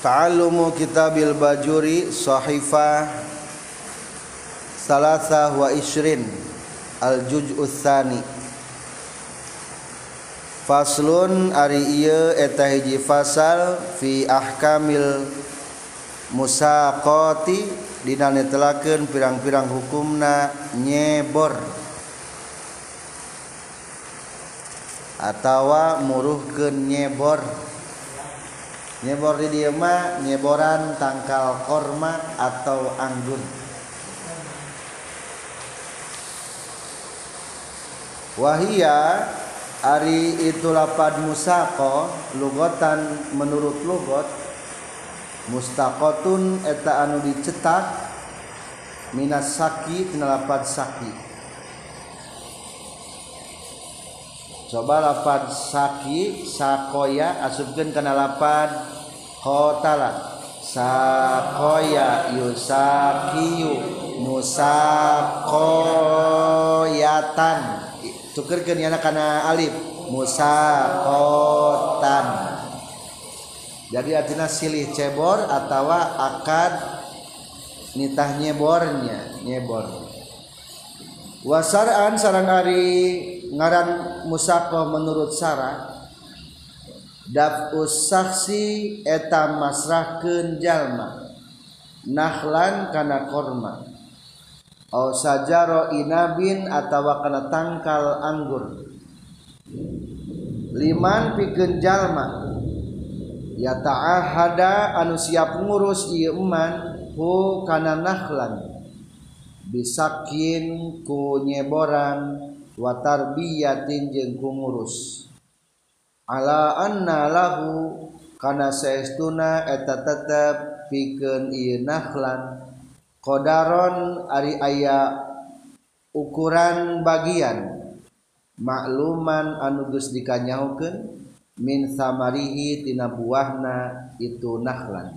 Ta'allumu kitabil bajuri sahifah salasah wa ishrin al-juz'u tsani. Faslun ari ieu eta hiji fasal fi ahkamil musaqati dina netelakeun pirang-pirang hukumna nyebor atawa muruhkeun nyebor. Nyebor di dieu mah nyeboran tangkal korma atau anggur. Wahia ari itu lapad musaqo lugotan menurut lugot mustaqotun eta anu dicetak minas saki tina lapad saki. Coba lapad saki sakoya asupkeun kana lapad qotala sakoya yusakiyu musaqoyatan tukeurkeun yana kana alif musaqotan. Jadi artinya silih cebor atawa akad nitah nyebornya nyebor. Wasar'an sareng ari ngaran musaqah menurut syara daf'us saksi eta masrahkeun jalma nakhlan kana korma au sajaro inabin atawa kana tangkal anggur liman pikeun jalma ya ta'ahada anu siap ngurus ieu eman hu kana nakhlan bisakin ku nyeboran wa tarbiyatin jeung ku ngurus ala anna lahu kana saestuna eta tetep pikeun ieu nakhlan qadaron ari aya ukuran bagian makluman anu geus dikanyahokeun min samarihi tina buahna itu nakhlan.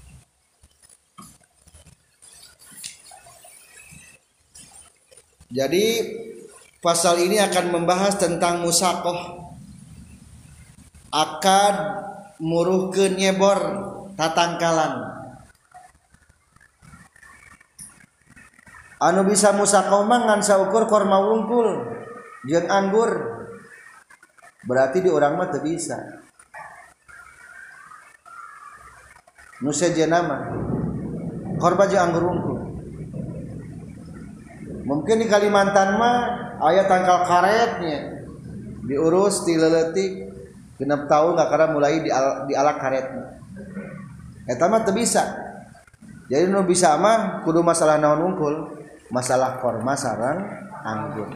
Jadi pasal ini akan membahas tentang musaqah, akad muruhkeun nyebor tatangkalan. Anu bisa musaqah mah ngan saukur korma wungkul jeung anggur. Berarti di urang mah teu bisa. Nu sejenna mah korma jeung anggur wungkul. Mungkin di Kalimantan mah aya tangkal karetnya diurus ti leuletik genep taun kakara mulai di alak karetna. Eta mah teu bisa. Jadi nu bisa mah kudu masalah naon wungkul, masalah korma sareng anggur.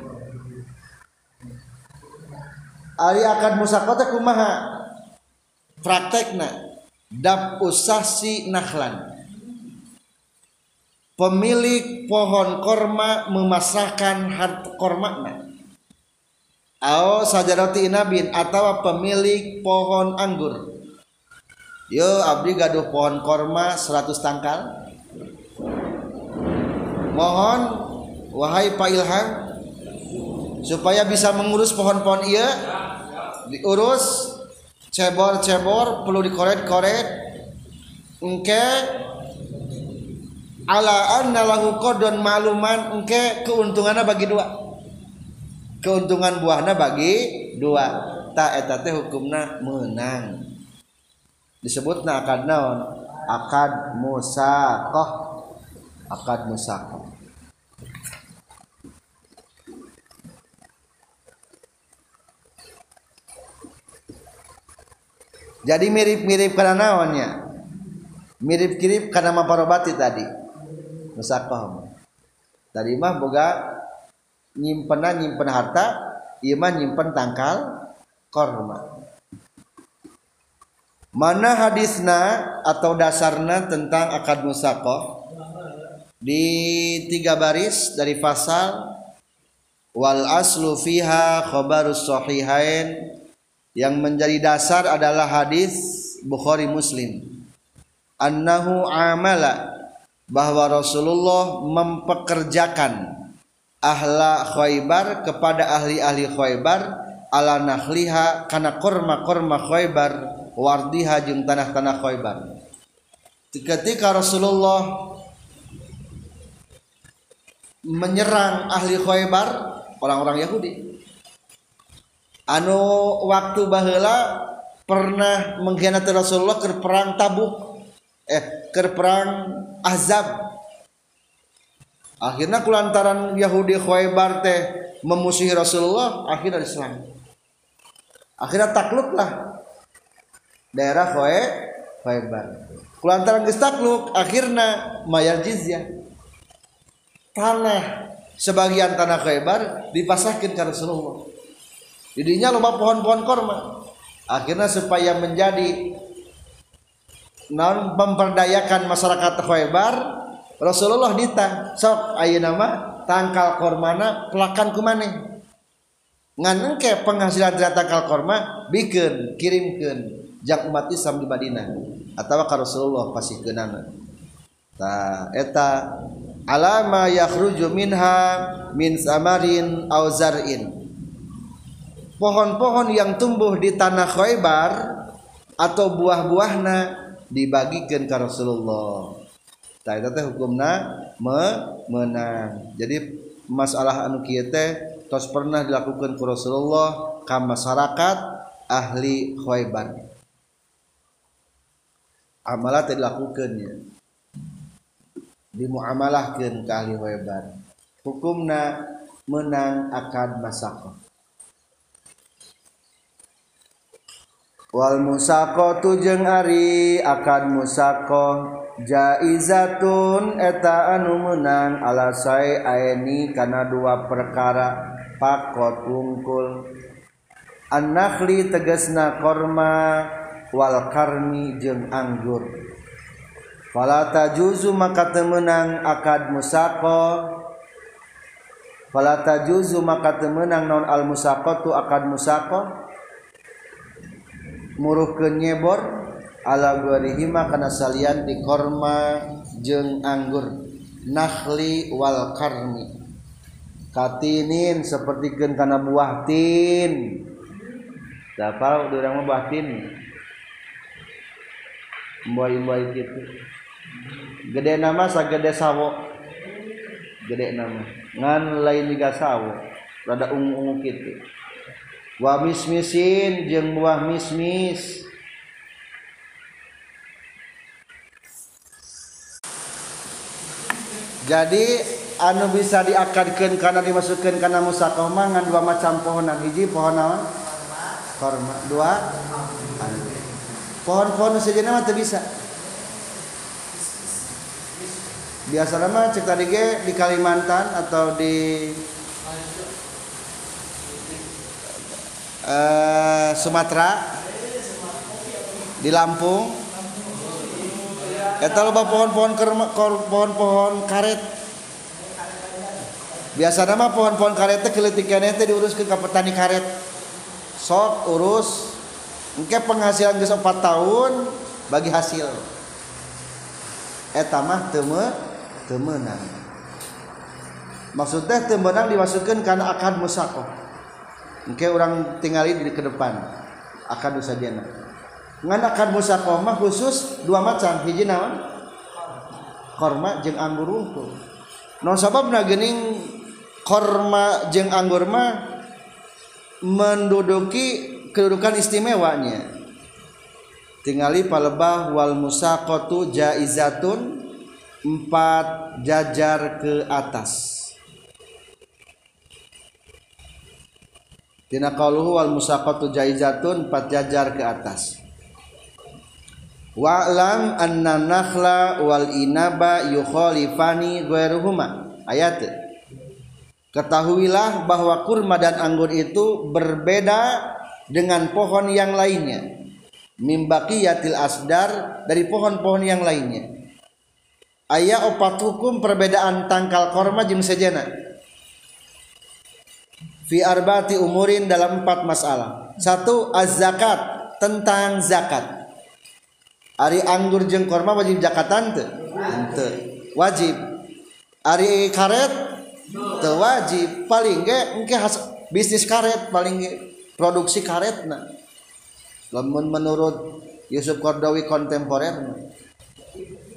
Ari akad musaqah teh kumaha praktekna? Daf'us sahsi nakhlan. Pemilik pohon korma memasrahkan harta kormana atau sajarati inabin atau pemilik pohon anggur. Yo abdi gaduh pohon korma 100 tangkal. Mohon wahai Pak Ilham supaya bisa mengurus pohon-pohon ieu diurus cebor-cebor perlu dikoret-koret engke ala anna lahu qadun ma'luman engke keuntunganna bagi dua. Keuntungan buahna bagi dua. Ta eta teh hukumna meunang. Disebutna akad naon? Akad musaqah. Akad musaqah. Jadi mirip-mirip kana naonnya? Mirip-mirip kana maparobati tadi. Musaqah tadi mah boga nyimpen harta, ieu mah nyimpen tangkal korma. Mana hadisna atau dasarna tentang akad musaqah? Di 3 baris dari fasal wal aslu fiha khabarus sahihain, yang menjadi dasar adalah hadis Bukhari Muslim. Annahu amala, bahwa Rasulullah mempekerjakan ahla Khaybar kepada ahli-ahli Khaybar ala nakhliha kana korma-korma Khaybar wardiha jeung tanah-tanah Khaybar. ketika Rasulullah menyerang ahli Khaybar, orang-orang Yahudi anu waktu baheula pernah mengkhianati Rasulullah ke perang Tabuk, ke perang Ahzab. Akhirnya kulantaran Yahudi Khaybar teh memusuhi Rasulullah, akhirnya Islam. Akhirnya takluklah daerah Khaybar. Kulantaran geus takluk, akhirnya mayar jizyah. Tanah sebagian tanah Khaybar dipasahkan ke Rasulullah. Jadinya loba pohon-pohon korma. Akhirnya supaya menjadi memperdayakan masyarakat Khaybar, Rasulullah ditang sok ayeuna mah tangkal kormana pelakan ku maneh. Ngan engke penghasilan dari tangkal korma bikeun kirimkeun jang umat Islam di Madinah atawa ka Rasulullah pasikeunana. Tah eta alama yakhruju minha min samarin aw zar'in. Pohon-pohon yang tumbuh di tanah Khaybar atau buah-buahna dibagikan ke Rasulullah. Tah eta teh hukumna menang. Jadi masalah anu kieu teh tos pernah dilakukan ku Rasulullah ka masyarakat ahli Khaybar. Amalah teh dilakukeun nya. Dimuamalahkeun ka ahli Khaybar. Hukumna menang akad masaqah. Wal musaqatu jeung ari akad musaqah jaizatun eta anu meunang ala sae aeni kana dua perkara pakot wungkul. An-nakhli tegasna korma wal karmi jeung anggur. Fala tajuzu maka teu meunang akad musaqah. Fala tajuzu maka teu meunang naon al musaqatu akad musaqah. Muruhkeun nyebor ala gharihima kana salian di korma jeung anggur. Nakhli wal karmi katinin sapertikeun kana buah tin. Dapal urang mah buah tin mboi-mboi kitu. Gede nama sagede sawo. Gede nama ngan lain juga sawo rada ungu-ungu kitu. Wa mismisin jeung buah mismis. Jadi anu bisa diakadkeun kana dimasukkeun kana musaqah mah ngan dua macam pohonan. Hiji pohon naon? Korma. Dua pohon-pohon sejeuna mah teu bisa. Biasana mah cek tadi ge di Kalimantan atau di Sumatera, di Lampung, eta loba pohon-pohon karet. Biasana mah pohon-pohon karet teh keleutik keneh teh diuruskeun ka petani karet. Sok urus, engke penghasilan geus 4 tahun bagi hasil. Eta mah teu meunang. Maksudnya teu meunang dimasukkeun kana akad musaqah. Engke urang tingali di ke depan akad usadiana. Ngan akad musaqah mah khusus dua macam, hiji naon? Korma jeung anggur unggul. Naon sababna geuning korma jeung anggur mah menduduki kedudukan istimewanya. Tingali palebah wal musaqatu jaizatun 4 jajar ke atas. Tina qauluhu wal musaqatu jaizatun 4 jajar ke atas. Wa'lam anna nakhla wal inaba yukhalifani ghairuhuma. Ayat. Ketahuilah bahwa kurma dan anggur itu berbeda dengan pohon yang lainnya. Mim baqiyatil asdar, dari pohon-pohon yang lainnya. Aya 4 hukum perbedaan tangkal korma jeung sejenna. Fi arba'ati umurin, dalam 4 masalah. 1. Az-zakat, tentang zakat. Ari anggur jeung korma wajib zakatan teu? Henteu. Wajib. Ari karet teu wajib. Paling ge engke bisnis karet, paling ge produksi karetna. Lamun menurut Yusuf Qardawi kontemporer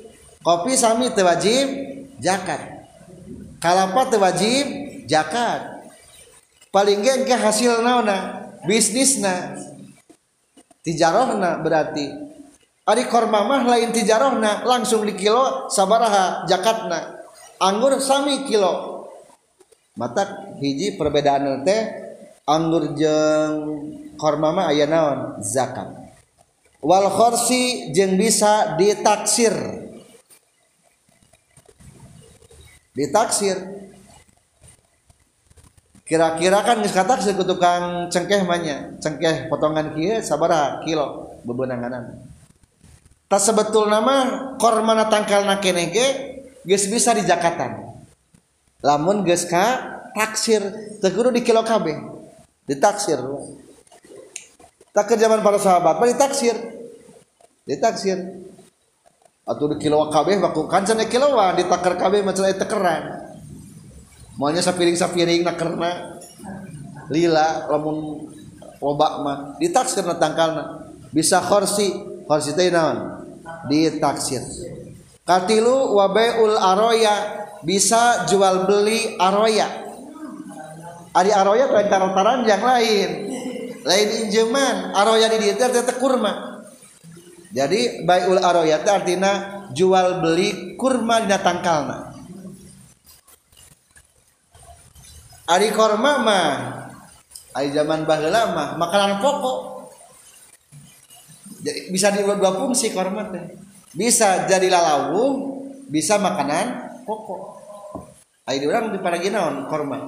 Kopi sami teu wajib zakat. Kalapa teu wajib zakat. Paling ge engke hasil naonna? Bisnisna. Tijarahna berarti. Ari korma mah lain tijarahna, langsung di kilo sabaraha zakatna. Anggur sami kilo. Matak hiji perbedaan teh anggur jeung korma mah aya naon? Zakat. Wal khorsi jeung bisa ditaksir. Ditaksir. Kira-kira kan geus kataksir ku tukang cengkeh mah nya. Cengkeh potongan kieu sabaraha kilo bebeunanganan. Ta sebetulna mah kormana tangkalna keneh ge geus bisa di zakatan. Lamun geus ka taksir teu kudu di kilo kabeh. Ditaksir. Tak ke zaman para sahabat mah ditaksir. Ditaksir. Atuh di kilo kabeh baku kan cenah kiloan ditaker kabeh mah cenah tekeran. Moalnya sapiring-sapiring nakerna lila lamun loba mah ditaksirna tangkalna. Bisa khorsi teh naon? Ditaksir. Katilu wa bai'ul aroya bisa jual beli aroya. Ari aroya lain taran yang lain. Lain injeman, aroya di dieu teh kurma. Jadi bai'ul aroya teh artina jual beli kurma dina tangkalna. Ari kurma mah ari zaman baheula mah makanan pokok. Jadi bisa di dua fungsi kurma teh. Bisa jadi lalawuh, bisa makanan pokok. Ai di urang diparagi naon kurma?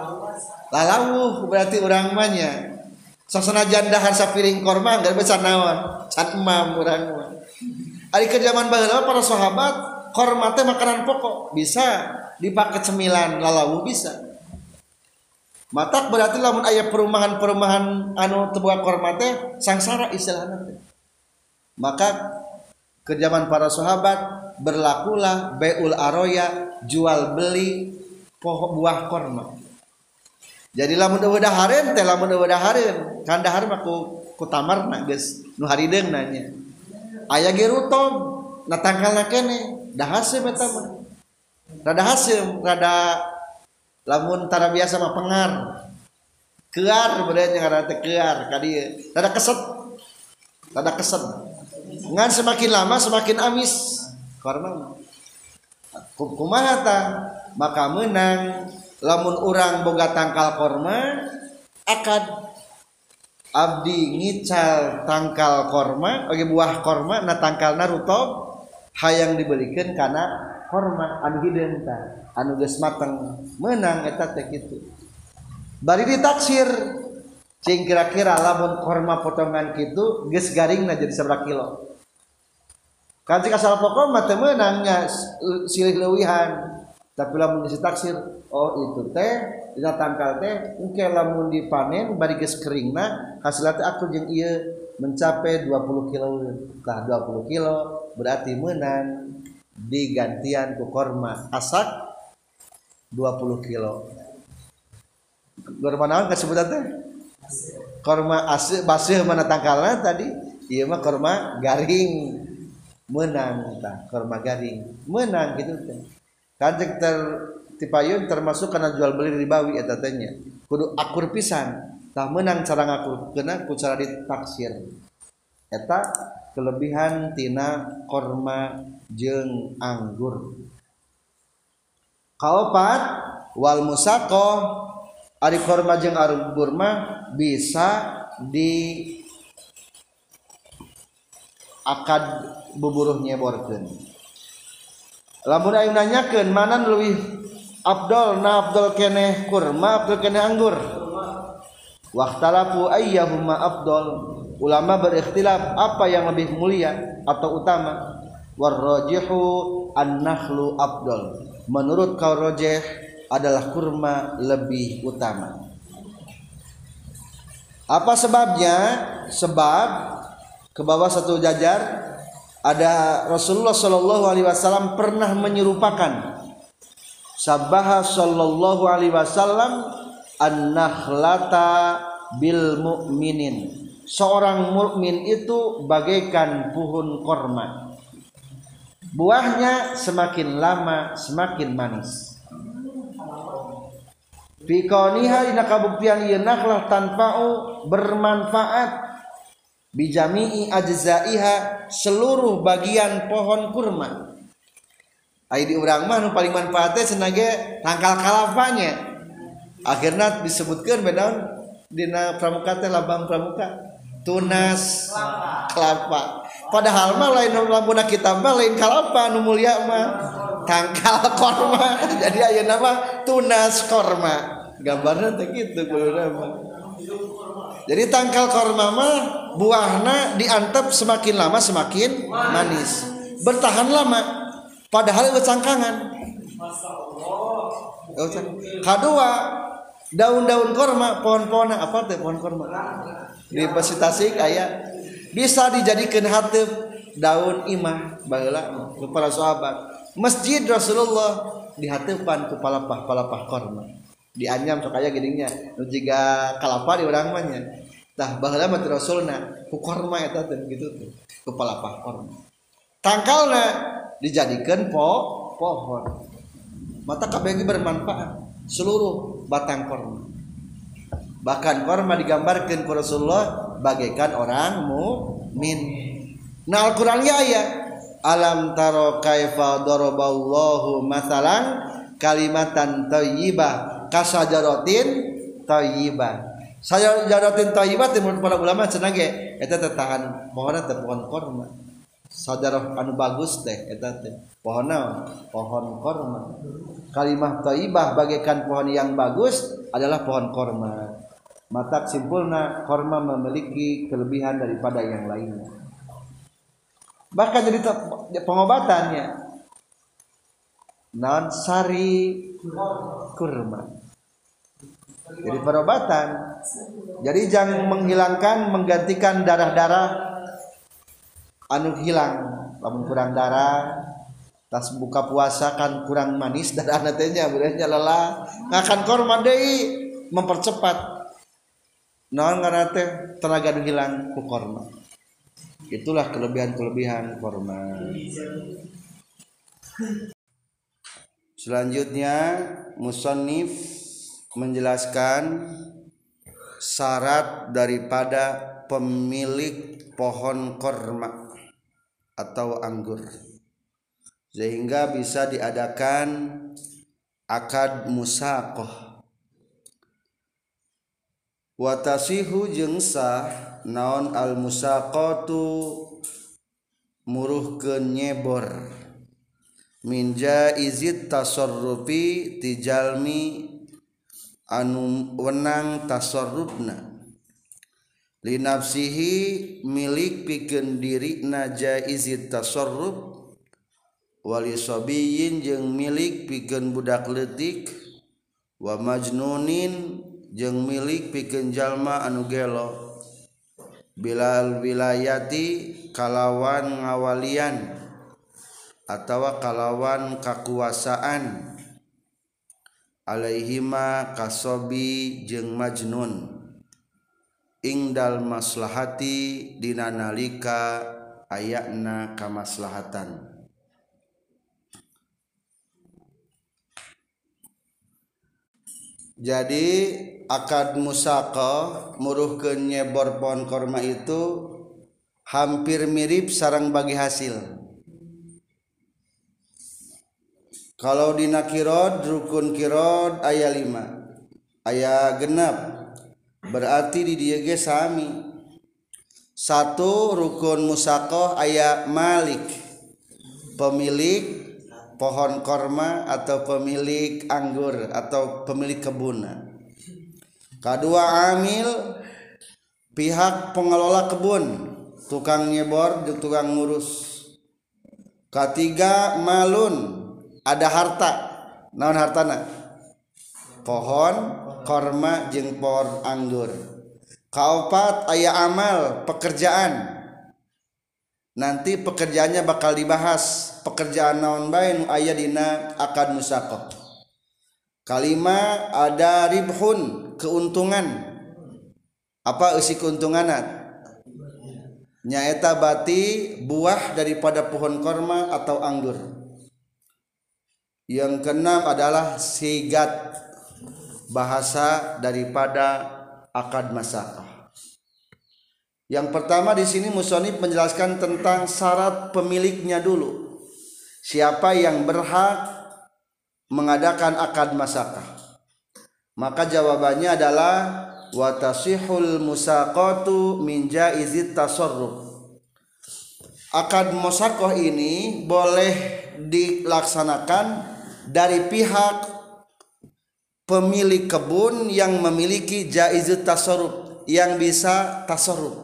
Lalawuh berarti urang mah nya. Sok sanajan dahar sapiring kurma enggak bisa naon? Can emam urang mah. Ari ke zaman baheula para sahabat kurma teh makanan pokok, bisa dipakai cemilan lalawuh bisa. Matak berarti lamun aya perumahan-perumahan anu teu boga kurma teh sangsara istilahna teh. Maka ke zaman para sahabat berlakulah bai'ul aroya jual beli pohon buah kurma. Jadi lamun eueuh dahareun teh lamun eueuh dahareun kan dahar mah ku tamarna geus nu harideung nanya. Aya ge rutob na tangkalna keneh dahasem eta mah. Rada hasem rada lamun tara biasa mah pengar. Kear beureuh ngaranna teh kear ka dieu. Rada keset. Rada keset. Ngan semakin lama semakin amis karena kumaha tah maka menang lamun urang boga tangkal korma akad abdi ngical tangkal korma oge buah korma na tangkalna rutob hayang dibelikeun kana korma anu hideung tah anu geus mateng menang eta teh kitu bari ditaksir cing kira-kira lamun korma potongan kitu geus garingna jadi sabaraha kilo. Kan cik asal pokok mah teu meunangnya silih leuwihan. Tapi lamun ditaksir oh itu teh dina tangkal teh engke lamun dipanen bari geus keringna hasilna teh aku jeung ieu mencapai 20 kilo. Tah 20 kilo berarti meunang digantian ku korma asak 20 kilo. Korma naon kasebutan teh? Korma asih baseuh mana tangkalna tadi? Ieu mah korma garing. Menang tah korma garing. Menang gitu teh. Kan cek tipayun termasuk kana jual beli ribawi eta teh nya. Kudu akur pisan. Tah menang cara ngakurkeunna ku cara ditaksir. Eta kelebihan tina korma jeung anggur. Kaopat wal musaqah ari korma jeung anggur mah bisa di akad buburuh nyeborkeun. Lamun aya nanyakeun mana leuwih afdol na afdol keneh kurma afdol keneh anggur. Waqtalafu ayyuhuma afdol. Ulama berikhtilaf apa yang lebih mulia atau utama. Warrajihu an-nakhlu afdol. Menurut kaul rajih adalah kurma lebih utama. Apa sebabnya? Sebab ke bawah satu jajar ada Rasulullah Shallallahu Alaihi Wasallam pernah menyerupakan Sabbaha Shallallahu Alaihi Wasallam an-nakhlata bil mu'minin. Seorang mukmin itu bagaikan pohon korma. buahnya semakin lama semakin manis. Fi kauniha dina kabuktian ieu nakhlah tanfa'u bermanfaat bijami'i ajzaiha seluruh bagian pohon kurma. Ai di urang mah nu paling manfaatnya cenah ge tangkal kalapanya. Akhirna disebutkeun bedaun dina pramuka teh labang pramuka tunas kelapa. Padahal mah lain lamunna kitab mah lain kalapa nu mulia mah tangkal korma. Jadi ayeuna mah tunas korma. Gambarna teh kitu kuluna mah. Jadi tangkal korma mah buahna diantep semakin lama semakin manis. Bertahan lama padahal itu cangkangan. Kedua, daun-daun korma, pohon-pohon apa teh pohon korma? Di Besi Tasik aya bisa dijadikan hateup daun imah baheula para sahabat. Masjid Rasulullah dihateupan ku palapah-palapah korma. Dianyam sok aya geuninnya nu jiga kalapa di urang mah nya. Tah baheula mah Rasulna ku korma eta teh kitu teh, ku palapah korma. Tangkalna dijadikan pohon. Mata kabeh bermanfaat seluruh batang korma. Bahkan korma digambarkan ku Rasulullah bagaikan orang mukmin. Nah Al-Qur'an ge aya alam taro kaifa daraballahu masalan kalimatan thayyibah kasajaratin thayyibah. Sajaratin thayyibah menurut para ulama cenah ge eta teh tahan pohonna teh pohon korma. Sajarah anu bagus teh eta teh pohon naon? Pohon korma. Kalimah thayyibah bagaikan pohon yang bagus adalah pohon korma. Mata simpulna korma memiliki kelebihan daripada yang lainnya. Bahkan jadi pengobatannya naon sari kurma. Jadi perobatan. Jadi jangan menghilangkan menggantikan darah-darah anu hilang. Lamun kurang darah tas buka puasa kan kurang manis darahna teh nya beureunya lelah ngakan korma deui mempercepat naon ngaranna teh tenaga nu hilang ku korma. Itulah kelebihan-kelebihan korma. Selanjutnya musannif menjelaskan syarat daripada pemilik pohon korma atau anggur sehingga bisa diadakan akad musaqah. Wa tasihu jeung sah naon al musaqatu muruhkeun nyebor min jaizit tasarrufi tijalmi anu wenang tasarrufna li nafsihi milik pikeun dirina jaizit tasarruf wali sabiyin jeung milik pikeun budak leutik wa majnunin jeung milik pikeun jalma anu gelo bilal wilayati kalawan ngawalian atawa kalawan kakuasaan alaihima kasobi jeung majnun ingdal maslahati dina nalika ayana kamaslahatan. Jadi akad musaqah muruhkeun nyebor pohon korma itu hampir mirip sareng bagi hasil. Kalau dina kirod rukun kirod aya 5 aya genep berarti di dieu ge sami. 1 rukun musaqah aya malik pemilik pohon korma atau pemilik anggur atau pemilik kebun. Kedua amil pihak pengelola kebun tukang nyebor jeung tukang ngurus. Ketiga malun ada harta naon hartana pohon korma jeung pohon anggur. Kaopat aya amal pekerjaan nanti pekerjaannya bakal dibahas pekerjaan naon bae nu aya dina akad musaqah. Kalima ada ribhun keuntungan apa eusi keuntunganna nyaeta bati buah daripada pohon korma atau anggur. Yang keenam adalah sigat, bahasa daripada akad masakah. Yang pertama di sini musonif menjelaskan tentang syarat pemiliknya dulu. Siapa yang berhak mengadakan akad masakah? Maka jawabannya adalah wa tasihul musaqatu min jaizit tasarruf. Akad musaqah ini boleh dilaksanakan dari pihak pemilik kebun yang memiliki jaizut tasarruf, yang bisa tasarruf.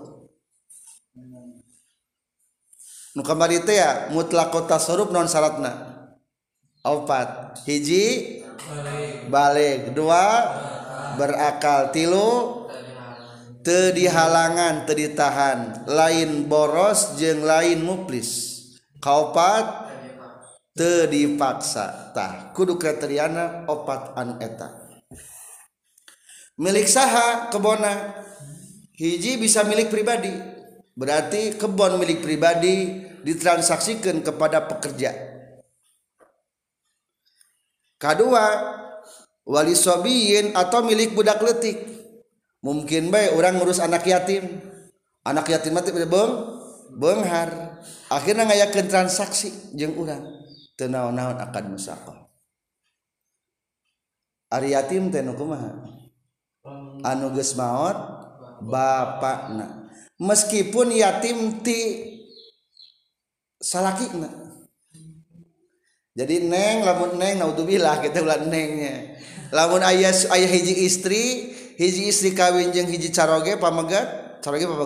Nu kamari teh ya mutlaqut tasarruf non syaratna. Opat, hiji balik, dua berakal, tilu teu dihalangan, teu ditahan, lain boros jeung lain muflis, kaopat teu dipaksa. Tah kudu kriteriana opat anu eta. Milik saha kebona? Hiji bisa milik pribadi, berarti kebon milik pribadi ditransaksikan kepada pekerja. Kedua, wali sobiyin atau milik budak leutik. Mungkin bae orang ngurus anak yatim mati beunghar, akhirnya ngayakeun transaksi jeung urang teu naon-naon akad musaqah. Ari yatim teh nu kumaha? Anu geus maot bapakna, meskipun yatim ti salakina. Jadi neng, lamun neng naudzubillah kita ulah nengnya. Lamun ayah hiji istri kawin jeung hiji caroge pamegat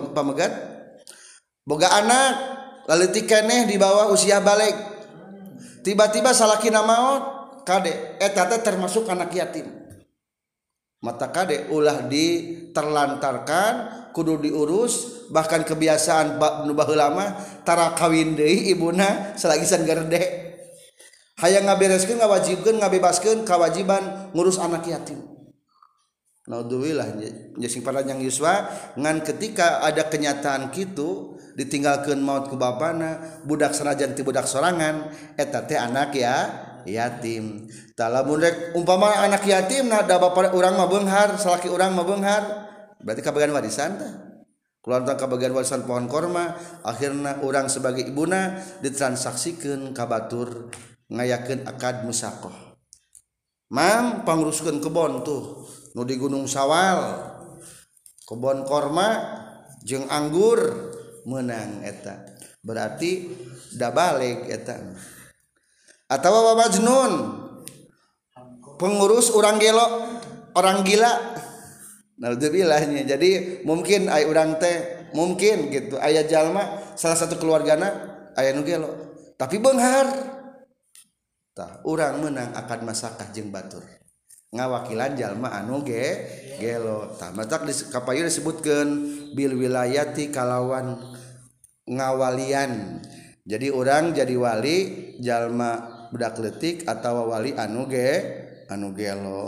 boga anak leutik keneh di bawah usia balik. Tiba-tiba salakina maot, kade eta teh termasuk anak yatim. Mata kade ulah diterlantarkan, kudu diurus, bahkan kebiasaan nu baheula mah tara kawin deui ibuna salagisan gerde. Hayang ngabereskeun, ngawajibkeun, ngabebaskeun kewajiban ngurus anak yatim. Naudzubillah sing paranyang yuswa ngan ketika ada kenyataan kitu ditinggalkeun maut ku bapana, budak sanajan ti budak sorangan eta teh anak yatim. Tah lamun rek umpama anak yatim nah da bapa urang mah beunghar, salaki urang mah beunghar, berarti kabagian warisan teh. Keluarga kabagian warisan pohon korma, akhirna urang sebagai ibuna ditransaksikeun ka batur ngayakeun akad musaqah. Mam panguruskeun kebon tuh nu di Gunung Sawal, kebon korma jeung anggur meunang eta. Berarti da balik eta. Atawa wabajnun pengurus orang gelo, orang gila. Naudzubillah. Jadi mungkin aya urang teh mungkin gitu aya jalma salah satu keluargana aya nu gelo tapi beunghar. Tah urang meunang akad masakah jeung batur ngawakilan jalma anu gelo. Tah matak di kapayu disebutkeun bil wilayati kalawan ngawalian. Jadi orang jadi wali jalma budak leutik atawa wali anu gelo.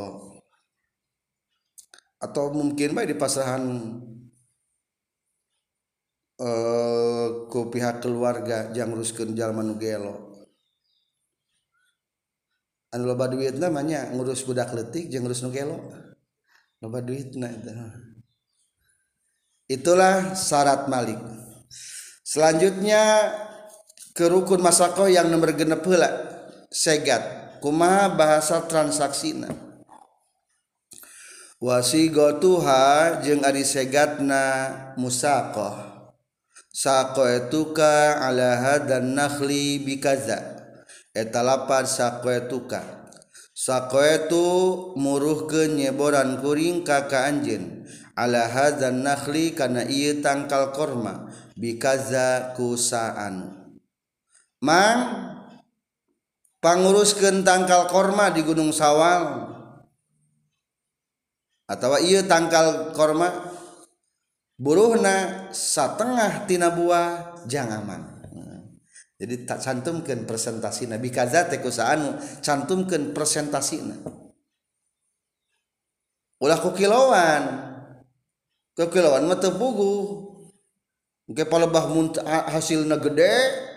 Atau mungkin bae di pasrahan ku pihak keluarga jang nguruskeun jalma nu gelo. Anu loba duitna namanya ngurus budak leutik jeung ngurus nu gelo. Loba duitna eta. Itulah syarat malik. Selanjutnya ke rukun masaqah yang nomor genep heula, segat. Kumaha bahasa transaksina? Wasigatuha jeung ari segatna musaqah. Saqaituka ala hadan nakhli bikaza. Eta lapar saqaituka. Saqaitu muruhkeun nyeboran kuring ka anjeun. Ala hadan nakhli kana ieu tangkal korma bikaza kusaan. Mang panguruskeun tangkal korma di Gunung Sawal atawa ieu tangkal korma buruhna satengah tina buah jangaman. Jadi tak cantumkeun presentasina bikaza teh kusaan cantumkeun presentasina. Ulah ku kiloan mah teu puguh Engke palebah hasilna gede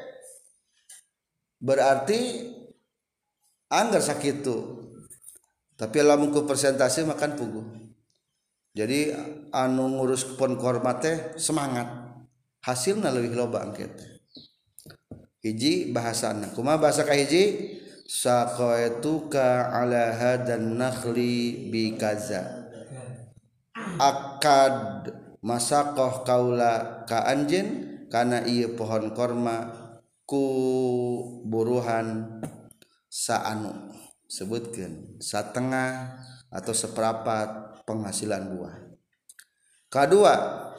berarti anggar sakitu. Tapi lamun ku persentase makan puguh. Jadi anu ngurus pon korma teh semangat. Hasilna leuwih loba engke teh. Hiji bahasana. Kumaha bahasa ka hiji? Saqaituka ala hadan nakhli bi kaza. Akad masaqah kaula ka anjeun kana ieu pohon korma ku buruhan saanu, sebutkeun satengah atau seperempat penghasilan buah. Kedua,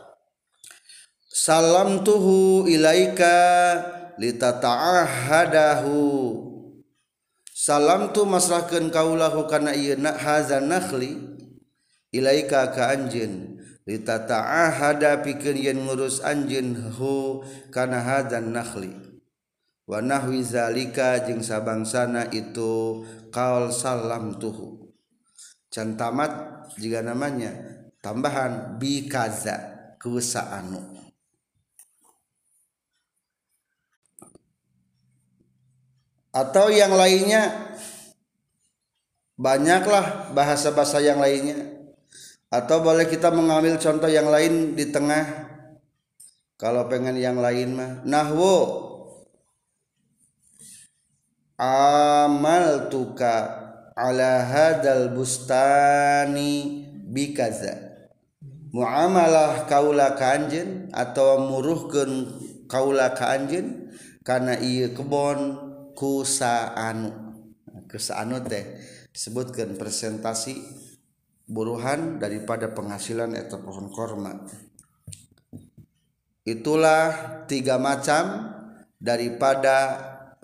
salamtuhu ilaika litata'ahadahu. Salam tu masrahkeun kaulahu kana ieu hazan nakhli ilaika ka anjeun litata'ahada pikeun yen ngurus anjeun hu kana hazan nakhli wa nahwi zalika jeung sabangsana itu qaul salam tuhu. Can tamat jiga namanya tambahan bi kaza ku saanu. Atau yang lainnya, banyaklah bahasa-bahasa yang lainnya. Atau boleh kita mengambil contoh yang lain di tengah. Kalau pengen yang lain mah nahwu amaltuka ala hadal bustani bikaza. Muamalah kaula ka anjeun atau muruhkeun kaula ka anjeun kana ieu kebon kusaanu. Kusaanu teh disebutkan presentasi buruhan daripada penghasilan eta pohon korma. Itulah 3 macam daripada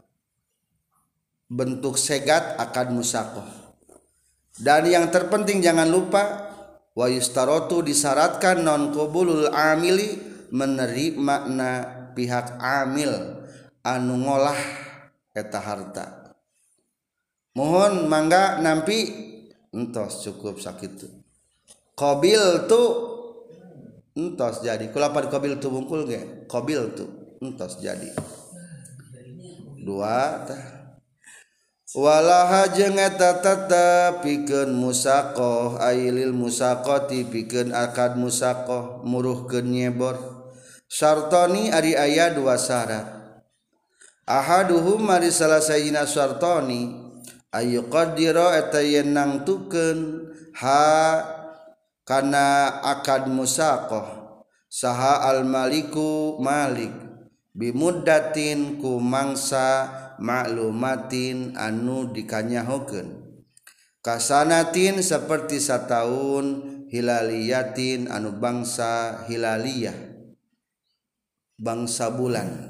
bentuk segat akad musaqah. Dan yang terpenting jangan lupa wa yustarotu disyaratkan non qabulul amili menerima na pihak amil anu ngolah eta harta. Mohon mangga nampi entos cukup sakitu. Qabil tu entos jadi. Kulapan qabil tu bungkul ge. Qabil tu entos jadi. 2 tah. Walaha jeung eta tetep pikeun musaqah ailil musaqati pikeun akad musaqah muruhkeun nyebor. Syartoni ari aya 2 syarat. Ahaduhum mari salah sayina syartoni ayu qadira eta yen nangtukeun ha kana akad musaqah saha al maliku malik bimuddatin ku mangsa maklumatin anu dikanyahokeun kasanatin seperti sataun hilaliyatin anu bangsa hilaliyah bangsa bulan.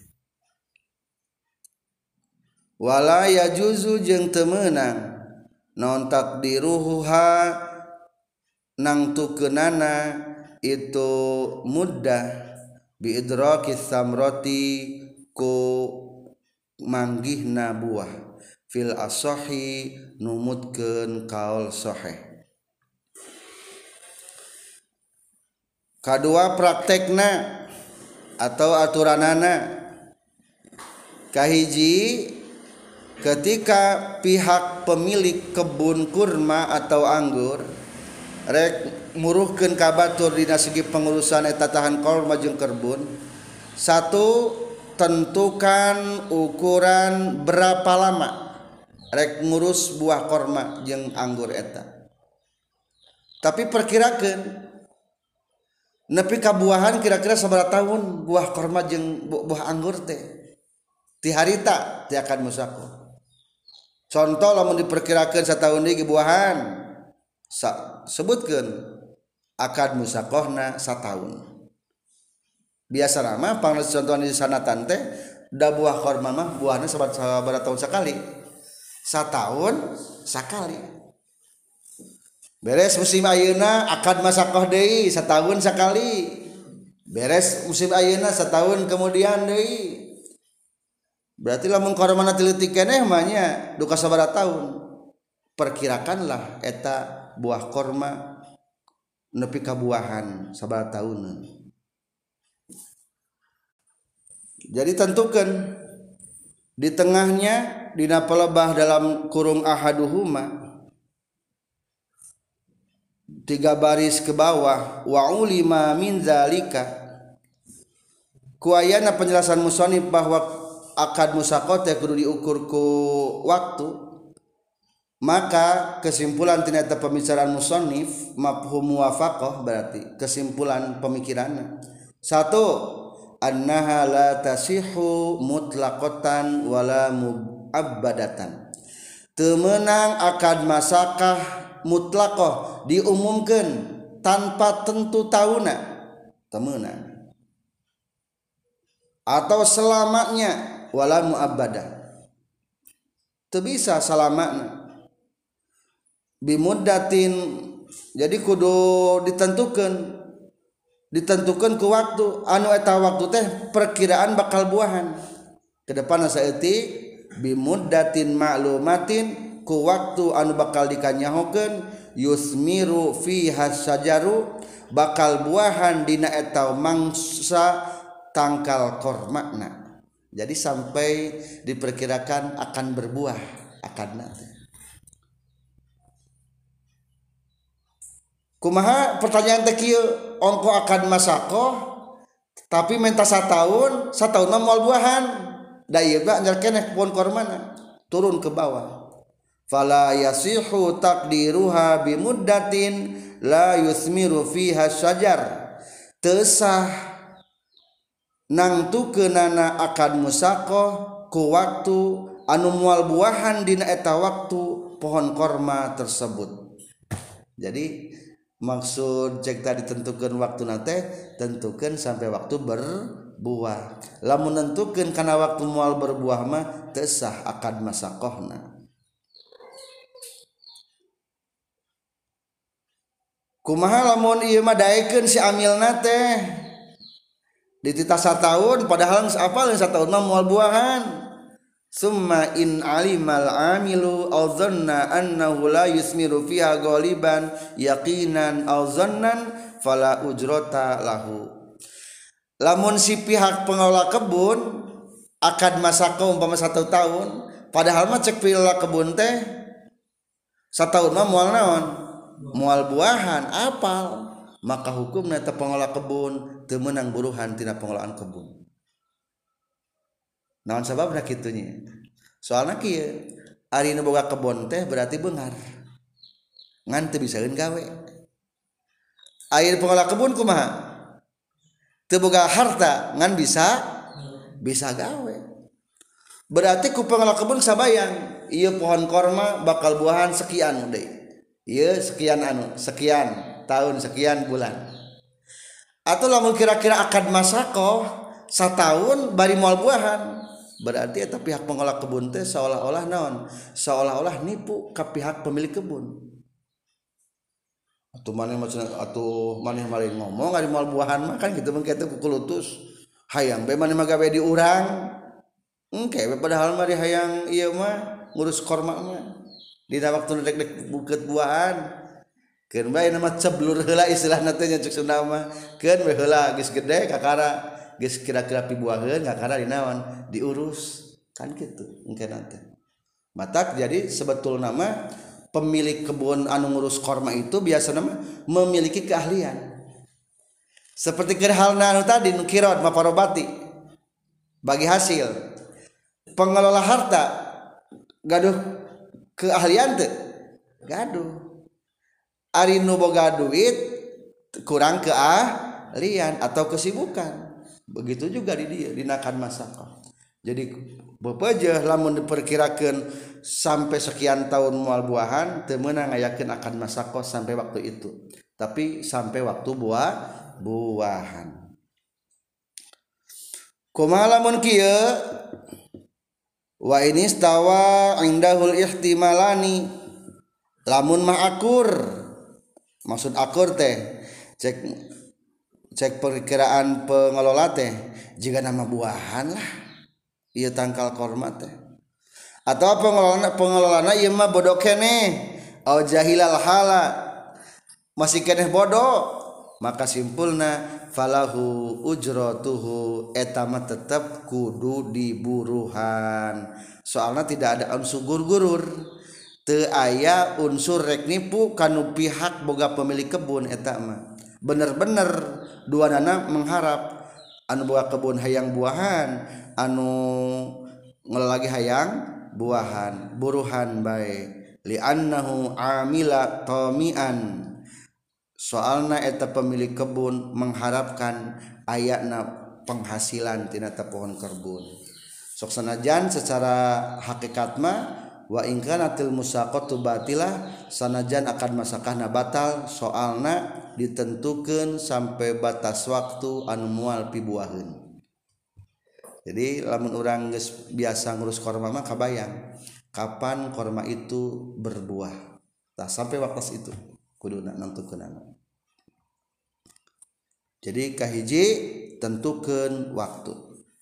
Wala yajuzu jeung teu meunang naon takdiruha nangtukeunana itu muddah bi idrakis samrati ku manggihna buah fil asahi numutkeun kaul sahih. Kadua praktekna atau aturanana kahiji ketika pihak pemilik kebun kurma atau anggur rek muruhkeun ka batur dina segi pengurusan eta tahan kurma jeung kebun. 1, tentukan ukuran berapa lama rek ngurus buah kurma jeung anggur eta. Tapi perkirakeun nepi ka buahan kira-kira sabaraha tahun buah kurma jeung buah anggur teh ti harita ti akad musaqah. Contoh lamun diperkirakan setahun deui buahan sebutkeun akad musaqahna satahun. Biasa mah pangles contohan di sanatan teh da buah kurma mah buahna sabaraha tahun sakali. Satahun sakali. Beres musim ayeuna akad musaqah deui satahun sakali. Beres musim ayeuna setahun kemudian deui. Berarti lamun kormana tileutik keneh mah nya duka sabaraha tahun. Perkirakanlah eta buah korma nepi ka buahan sabaraha tahunan. Jadi tentukan di tengahnya dina pelebah dalam kurung ahaduhuma 3 baris ke bawah wa ulima min zalika kuayana penjelasan musannif bahwa akad musaqah teh kudu diukur ku waktu, maka kesimpulan tina eta pembicaraan musannif mafhum muwafaqah berarti kesimpulan pemikiranna satu annaha la tasihu mutlaqatan wala muabbadatan teu meunang akad masakah mutlaqah diumumkeun tanpa tentu tauna teu meunang atau selamanya wala muabbadah teu bisa salamana bimuddatin jadi kudu ditentukan ke waktu anu eta waktu teh perkiraan bakal buahan ke depan saeutik bimuddatin ma'lumatin ku waktu anu bakal dikanyahokeun yusmiru fiha sajaru bakal buahan dina eta mangsa tangkal kormakna jadi sampai diperkirakan akan berbuah akadna teh. Kumaha pertanyaan teh kieu ongko akad masaqah tapi minta satahun mah moal buahan da ieu mah nya keneh pohon kormana turun ke bawah fala yasihu taqdiruha bimuddatin la yusmiru fiha syajar teu sah nangtukeunana akad musaqah ku waktu anu moal buahan dina eta waktu pohon korma tersebut. Jadi maksud cek tadi tentukan waktu nanti tentukan sampai waktu berbuah. Lamun nentukeun kana waktu moal berbuah mah teu sah akad masaqahna. Kumaha lamun ieu mah daekeun si amilna teh dititah satahun padahal apal satahun mah moal buahan. Summa in alimal amilu aw dhanna annahu la yusmiru fiha ghaliban yaqinan aw dhannan fala ujrata lahu. Lamun si pihak pengelola kebun akad masaqah umpama 1 tahun padahal mah cek pengelola kebun teh satahun mah moal naon? Moal buahan apal maka hukumna teh pengelola kebun teu meunang buruhan tina pengelolaan kebun. Naon sababna kitu nya? Soalna kieu, ari nu boga kebon teh berarti beungar. Ngan teu bisaeun gawe. Aya pengelola kebun kumaha? Teu boga harta ngan bisa gawe. Berarti ku pengelola kebun sabayang, ieu pohon korma bakal buahan sekian deui. Ieu sekian tahun sekian bulan. Atau lamun kira-kira akad masaqah satahun bari moal buahan berarti eta pihak pengelola kebun teh seolah-olah naon? Seolah-olah nipu ka pihak pemilik kebun. Atuh maneh mari ngomong ari moal buahan mah kan kitu mah kitu kukulutus. Hayang bae maneh mah gawe di urang. Engke padahal mari hayang ieu mah ngurus korma mah. Dina waktu dek bukeut buahan. Keun bae nama ceblur heula istilahna teh nya cek Sunda mah. Keun we heula geus gede kakara geus kira-kira pibuaheun kakara dinaon diurus kan kitu engke nanti. Matak jadi sebetulna mah pemilik kebun anu ngurus korma itu biasana mah memiliki keahlian. Seperti keur halna anu tadi nu kirot maparobati bagi hasil. Pengelola harta gaduh keahlian teu? Gaduh. Ari nu boga duit kurang keahlian atau kesibukan. Begitu juga di dia dinakan masaqah. Jadi bepeujeuh lamun diperkirakeun sampai sekian tahun moal buahan teu meunang ngayakeun akan masaqah sampai waktu itu. Tapi sampai waktu buahan. Kumaha lamun kieu? Wa inistawa indahul ihtimalani lamun mah akur. Maksud akur teh cek perkiraan pengelola teh jika nama buahan lah ieu tangkal korma teh atau pengelolana ieu mah bodoh keneh au jahilal hala masih keneh bodoh maka simpulna falahu ujratuhu eta mah tetep kudu diburuhan. Soalna tidak ada unsur gurur, teu aya unsur rek nipu kanu pihak boga pemilik kebun eta mah. Bener-bener duanana mengharap anu boga kebun hayang buahan, anu ngelagi hayang buahan, buruhan bae. Li'annahu amila tamian, soalna eta pemilik kebun mengharapkan ayatna penghasilan tina pohon kebun. Sok sanajan secara hakikat mah wa in kanatil musaqatu batilah, sanajan akan masakahna batal soalna ditentukeun sampai batas waktu anu moal pibuaheun. Jadi lamun urang geus biasa ngurus korma mah kabayang kapan korma itu berbuah. Tah sampai waktu itu kuduna nentukeunana. Jadi kahiji tentukeun waktu.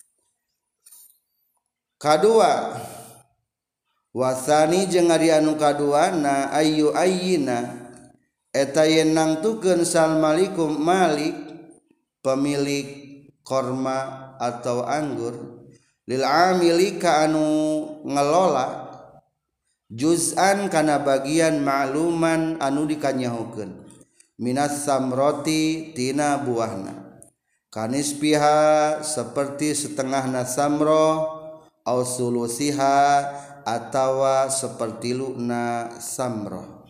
Kadua wasani jeung ari anu kaduana ayu ayyina eta yen nangtukeun sal malikum malik pemilik korma atau anggur lil amili ka anu ngelola juz'an kana bagian ma'luman anu dikanyahukeun minas samroti tina buahna kanis piha seperti setengahna samroh au sulusiha atawa seperti luna samroh.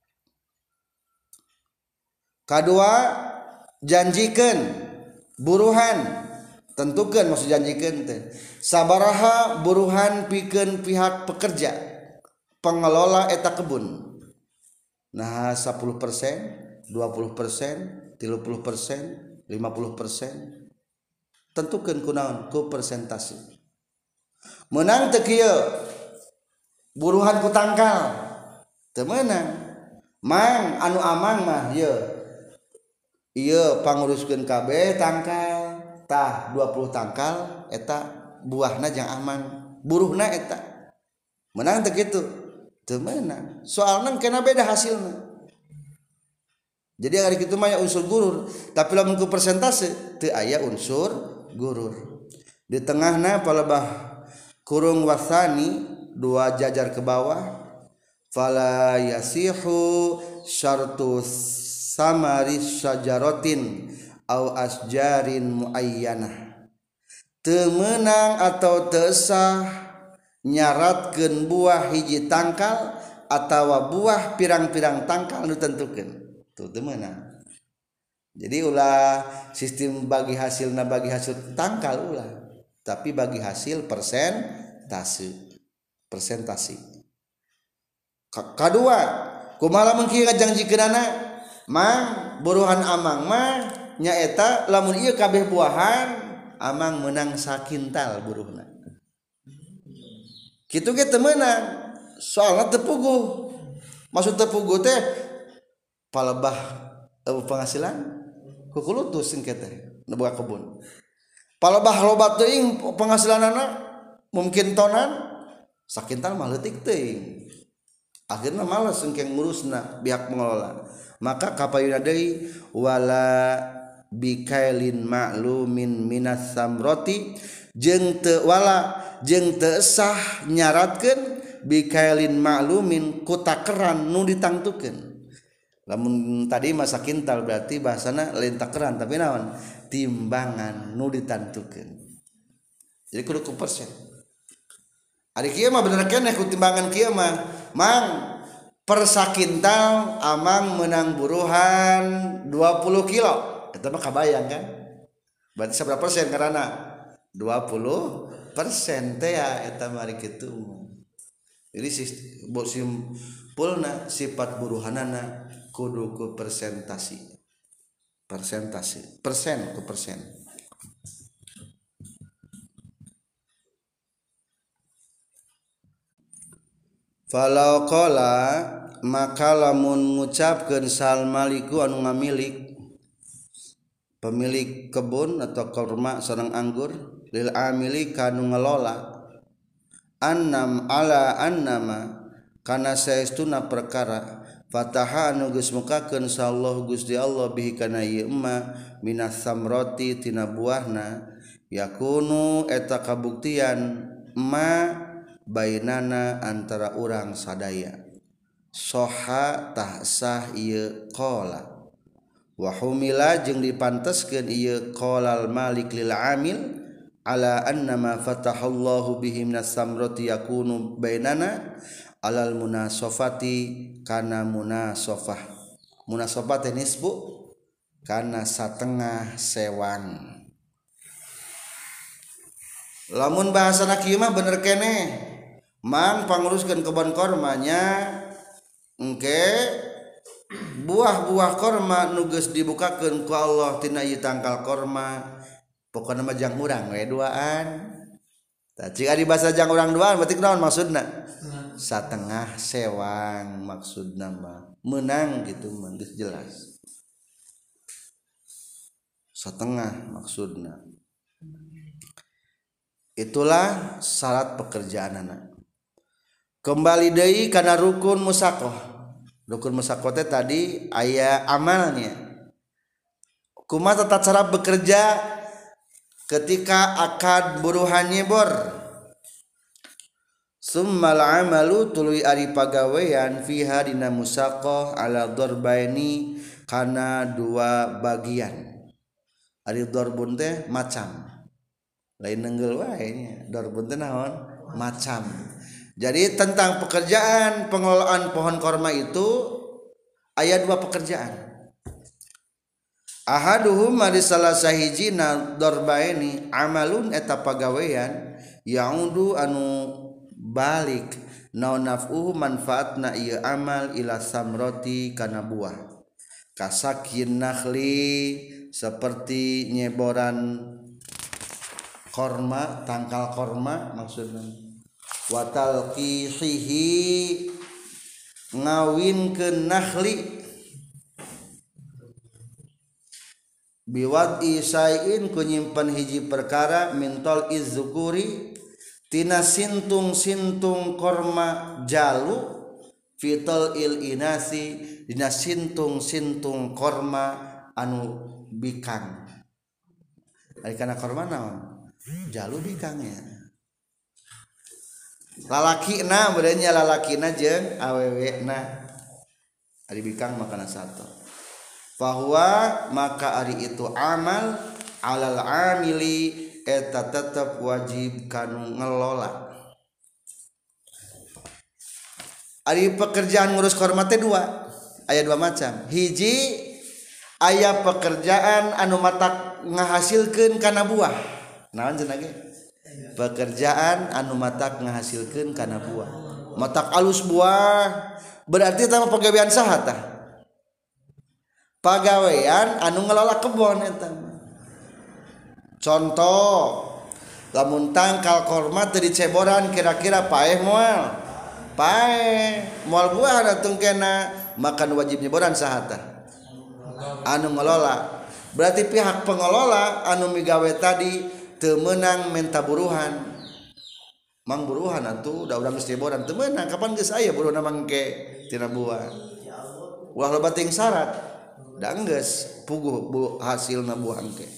Kadua janjikeun buruhan, tentukeun maksud janjikeun teh sabaraha buruhan pikeun pihak pekerja pengelola eta kebun. Nah 10%, 20%, 30%, 50%, tentukeun kunaon ku persentase. Menang teu kieu buruhan ku tangkal teu meunang. Mang anu amang mah ieu panguruskeun kabeh tangkal tah 20 tangkal eta buahna jang amang buruhna eta. Menang teu kitu teu meunang. Soalna kena beda hasilna. Jadi hari kitu mah unsur gurur, tapi lamun ku persentase teu aya unsur gurur. Di tengahna palebah kurung wasani dua jajar ke bawah fala yasihu syartu samari syajaratin au asjarin muayyanah teu meunang atau teu sah nyaratkeun buah hiji tangkal atawa buah pirang-pirang tangkal nu tentukeun teu meunang. Jadi ulah sistem bagi hasil tangkal ulah, tapi bagi hasil persentase. Kadua kumaha mun kieu ngajangjikeunana mang buruhan amang mah nyaeta lamun ieu kabeh buahan amang meunang sakintal buruhna. Kitu ge teu meunang soalna teu puguh. Maksud teu puguh teh palebah penghasilan kukulutus engke teh nu boga kebun. Palebah loba teuing penghasilanana mungkin tonan sakintal mah leutik teuing. Akhirna males engke ngurusna pihak pengelola. Maka kapayuna deui wala bikailin ma'lumin minas samroti jeung teu sah nyaratkeun bikailin ma'lumin ku takeran nu ditangtukeun. Lamun tadi masa kintal berarti bahasana lain takeran tapi naon timbangan nu ditantukeun. Jadi kudu ku persen. Ari kieu mah bener keneh ku timbangan kieu mah mang per sakintal amang menang buruhan 20 kilo. Eta mah kabayang kan? Berarti seberapa persen karana 20% teh ya eta mah ari kitu. Jadi simpulna sifat buruhanana kudu ku persentase persen ku persen. Falau qala maka lamun ngucapkeun sal maliku anu ngamilik pemilik kebun atau korma sareng anggur lil amili kanu ngelola annam ala annama kana saestuna perkara fataha anu geus mukakeun sallallahu Gusti Allah bihi kana ieu emma minas samrati tina buahna yakunu eta kabuktian ma bainana antara urang sadaya soha tah sah ieu qala wa humila jeung dipanteskeun ieu qalal malik lil amil ala anna ma fatahallahu bihi minas samrati yakunu bainana alal munasofati kana munasofah teh nisbu kana satengah sewang lamun bahasana kieu mah bener keneh mang panguruskeun kebon kormanya engke buah-buah korma nu geus dibukakeun ku Allah tina ieu tangkal korma pokona mah jang urang we duaan tah cik ari basa jang urang duaan berarti naon maksudna satengah sewang maksudna mah menang gitu mah geus jelas satengah maksudna itulah syarat pekerjaan anak kembali deui kana rukun musaqah teh tadi aya amalnya kumaha tata cara bekerja ketika akad buruhan nyebor summal amalu tuluy ari pagawean fiha dina musaqah ala darbaini kana dua bagian ari darbun teh macam lain nenggel wae nya darbun teh naon macam jadi tentang pekerjaan pengelolaan pohon korma itu aya dua pekerjaan ahaduhum ari salah sahijina darbaini amalun eta pagawean yaudu anu balik naon naf'uhu manfaatna ieu amal ila samrati kana buah kasakin nakhli seperti nyeboran korma tangkal korma maksudna wa talqihihi ngawinkeun nakhli biwad isaiin ku nyimpen hiji perkara mintol izzukuri tina sintung-sintung korma jalu fitol il inasi dina sintung-sintung korma anu bikang ari kana korma naon jalu bikangnya lalakina beureunya lalakina jeung awewena ari bikang makana satu bahwa maka ari itu amal alal amili eta tetap wajib kanu ngelola ari pekerjaan ngurus korma teh dua aya dua macam hiji aya pekerjaan anu matak ngahasilkeun kana buah naon cenah ge pekerjaan anu matak ngahasilkeun kana buah matak alus buah berarti eta mah pagawean saha tah pagawean anu ngelola kebon eta contoh lamun tangkal korma teu diceboran kira-kira paeh moal buah atuh kena makan wajib nyeboran saha tah anu ngelola berarti pihak pengelola anu migawe tadi teu meunang menta buruhan mang buruhan atuh da urang geus nyeboran teu meunang kapan geus aya buruhan mangke tina buah ulah loba ting syarat da geus puguh hasilna buah engke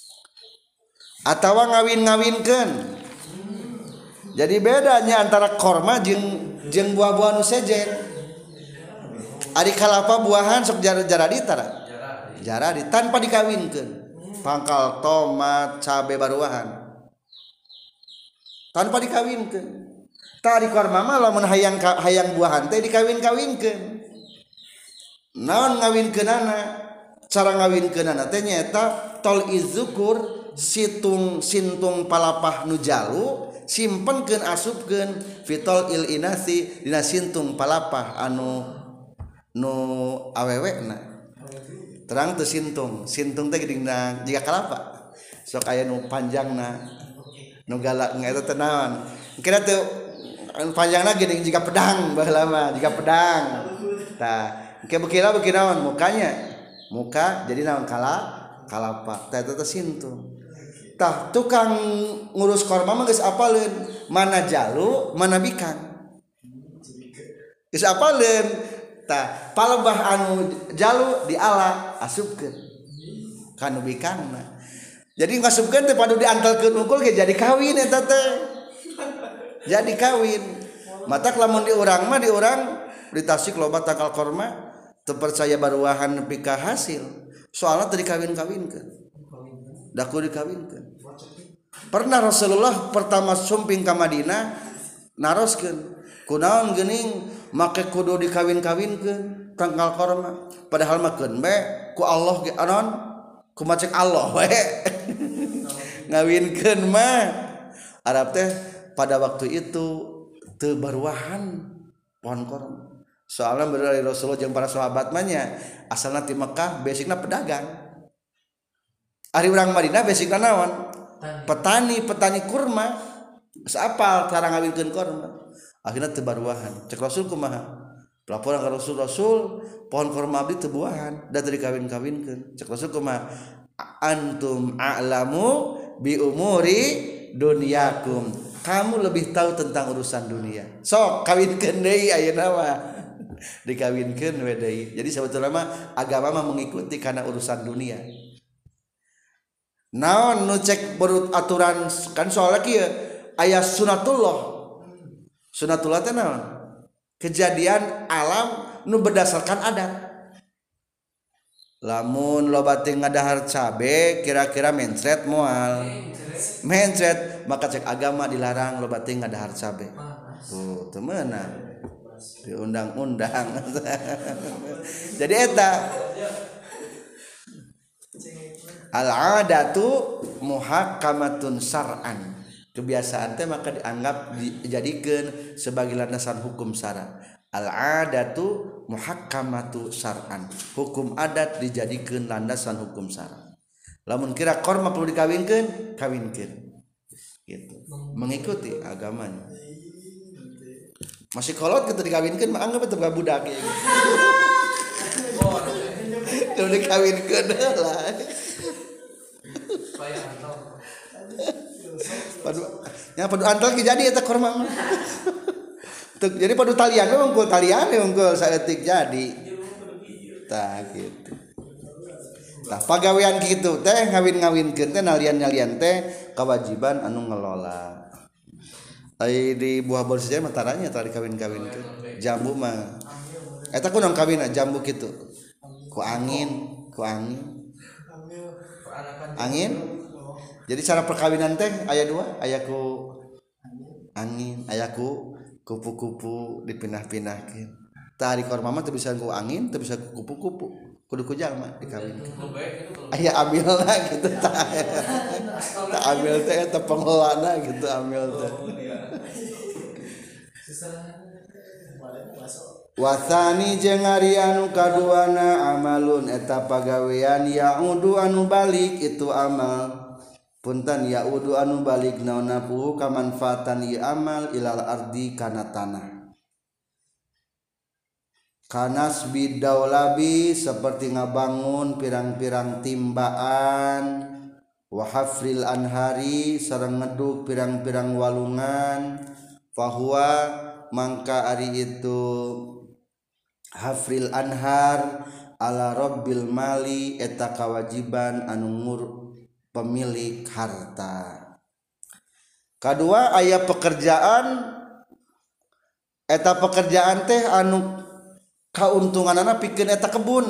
atawa ngawin-ngawinkeun jadi bedanya antara korma jeung buah-buah nu sejen ari kalapa buahan sok jaradi tara jaradi tanpa dikawinkeun pangkal tomat cabe baruahan tanpa dikawinkeun tari korma mah lamun hayang buahan teh dikawin-kawinkeun naon ngawinkeunana cara ngawinkeunana teh nyaeta tol izzukur sintung palapah nu jalu simpenkeun asupkeun fitol il inasi dina sintung palapah anu nu awewena terang teu sintung teh geuning jiga kalapa sok aya nu panjangna nu galak eta teh naon kira teu panjangna geuning jiga pedang baheula mah jiga pedang tah engke beuki naon muka jadi naon kalapa tah eta teh sintung tah tukang ngurus korma mah geus apaleun mana jalu mana bikang geus apaleun tah palebah anu jalu diala asupkeun kanu bikangna jadi ngasupkeun teh padu diantelkeun unggul ge jadi kawin eta teh jadi kawin matak lamun di urang mah di urang di Tasik loba tangkal korma teu percaya baruahan nepi ka hasil soalna teu dikawin-kawinkeun da kudu dikawinkeun pernah Rasulullah pertama sumping ka Madinah naroskeun kunaon geuning make kudu dikawin-kawinkeun tangkal korma padahal mah keun be ku Allah ge anon ku macek Allah we ngawinkeun mah Arab teh pada waktu itu teu baruahan pohon korma soalnya dari Rasulullah jeung para sahabat mah nya asalna ti Mekah basicna pedagang ari urang Madinah basicna naon petani kurma geus apal cara ngawinkeun korma akhirna teu baruahan cek Rasul kumaha laporan ka Rasul pohon korma abdi teu buahan da teu dikawin-kawinkeun cek Rasul kumaha antum a'lamu bi umuri dunyakum kamu lebih tahu tentang urusan dunia sok kawinkeun deui ayeuna mah dikawinkeun we deui jadi sebetulnya mah agama mah mengikuti karena urusan dunia naon nu cek berut aturan kan soalnya kieu aya sunatullah teh naon kejadian alam nu berdasarkan adat lamun loba teh ngadahar cabe kira-kira mencret moal mencret maka cek agama dilarang loba teh ngadahar cabe tuh teu meunang di undang-undang jadi eta al-adatu muhakkamatun syar'an kebiasaan teh maka dianggap dijadikeun sebagai landasan hukum syara al-adatu muhakkamatu syar'an hukum adat dijadikeun landasan hukum syara lamun kira korma perlu dikawinkeun kawinkeun gitu mengikuti agamanya masih kolot kita dikawinkeun mah anggap teu budak ya gitu teu dikawinkeun lah padu antal ki jadi eta korma mah jadi padu talian we unggul talian we unggul saeutik jadi tah gitu tah pagawean kitu teh ngawin-ngawinkeun teh nalian-nalian teh kewajiban anu ngelola ai di buah bolsija mah taranya tara dikawin-kawinkeun jambu mah eta kunaon kawinna jambu kitu ku angin jadi cara perkawinan teh aya dua aya ku angin aya ku kupu-kupu dipindah-pindahkeun tah ari korma mah teu bisa ku angin teu bisa ku kupu-kupu kudu ku jalma dikawinkeun aya amilna gitu tah amil teh eta pengelolana gitu amil teh wasani jeung ari anu kaduana amalun eta pagawean yaudu anu balik itu amal punten yaudu anu balik naonna puhu kamanfaatan ieu amal ilal ardi kana tanah kanas bidaulabi seperti ngabangun pirang-pirang timbaan wa hafril anhari sareng ngeduk pirang-pirang walungan fahuwa mangka ari itu hafril anhar ala rabbil mali eta kawajiban anu pemilik harta kadua aya pekerjaan eta pekerjaan teh anu kauntunganana pikeun eta kebun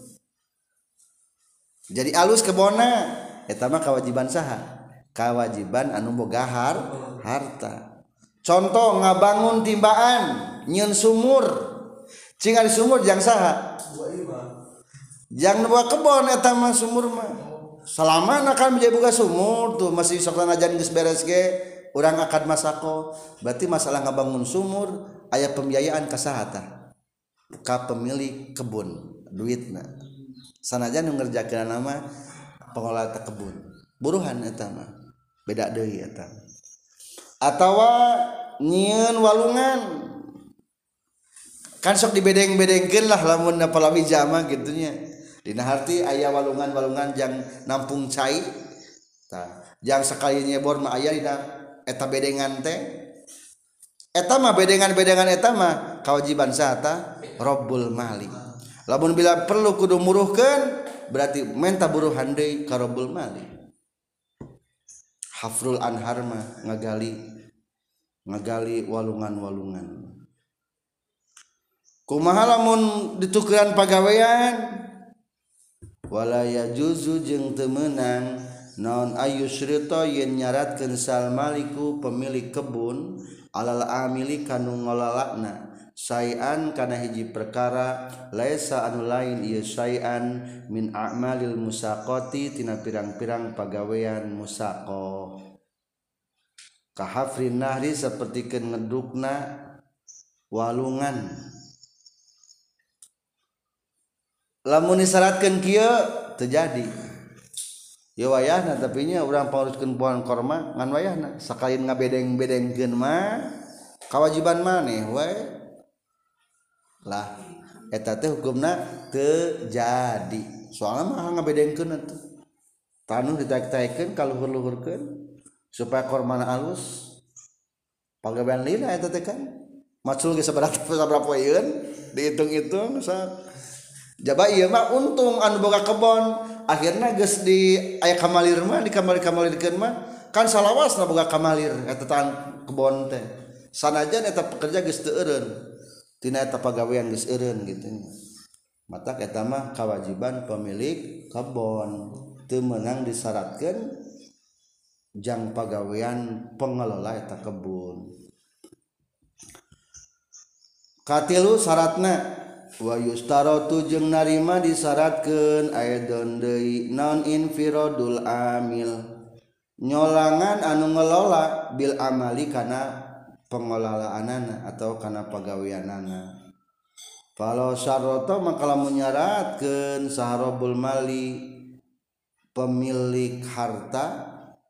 jadi alus kebonna eta mah kewajiban saha kewajiban anu boga harta contoh ngabangun timbaan nyieun sumur cing ari sumur jang saha jang nu kebon eta mah sumur mah salamana kan menjadi boga sumur tuh masih sok sanajan geus beres ge urang akad masako berarti masalah ngabangun sumur aya pembiayaan ka saha tah ka pemilik kebun duitna sanajan nu ngerjakeun nama pengelola kebun buruhan eta mah beda deui eta atawa nyieun walungan kan sok dibedeng-bedengkeun lah lamun palawija mah gitunya dina harti aya walungan-walungan jang nampung cai tah jang sakali nyebor mah aya dina eta bedengan teh eta mah bedengan-bedengan eta mah kewajiban sata Rabbul mali. Lamun bila perlu kudu muruhkeun berarti menta buruhan deui ka Rabbul mali. Hafrul anhar mah ngagali walungan-walungan. Kumaha lamun ditukeran pagawean? Wala yajuzu jeung teu meunang naon ayusrita yen nyaratkeun sal maliku pemilik kebun alal amili kanu ngololana sayan kana hiji perkara laisa anu lain ieu sayan min a'malil musaqati tina pirang-pirang pagawean musaqah kahafrin nahri sapertikeun ngedukna walungan. Lamun disyaratkeun kieu terjadi ya wayahna tapi nya urang pauruskeun pohon korma ngan wayahna sakalian ngabedeng-bedengkeun mah kewajiban maneh we lah eta teh hukumna teu jadi soalna mah ngabedengkeun atuh tanu ditaek-taekeun kaluhur-luhurkeun supaya kormana alus pagawean lila eta teh kan macul ge sabaraha poeun dihitung-hitung jaba ieu mah untung anu boga kebon akhirna geus di aya kamalir mah di kamalir-kamalirkeun mah kan salawasna boga kamalir eta tang kebon teh sanajan eta pekerja geus teu eureun tina eta pagawean geus eureun kitu mata eta mah kewajiban pemilik kebon teu meunang disyaratkeun jang pagawean pengelola eta kebun. Katilu syaratna wa yustaratu jeung narima disyaratkeun aidon deui non infiradul amil nyolangan anu ngelola bil amali kana pengelolaanana atau kana pagaweanana. Kalau syarata maka lamun nyaratkeun saharabul mali pemilik harta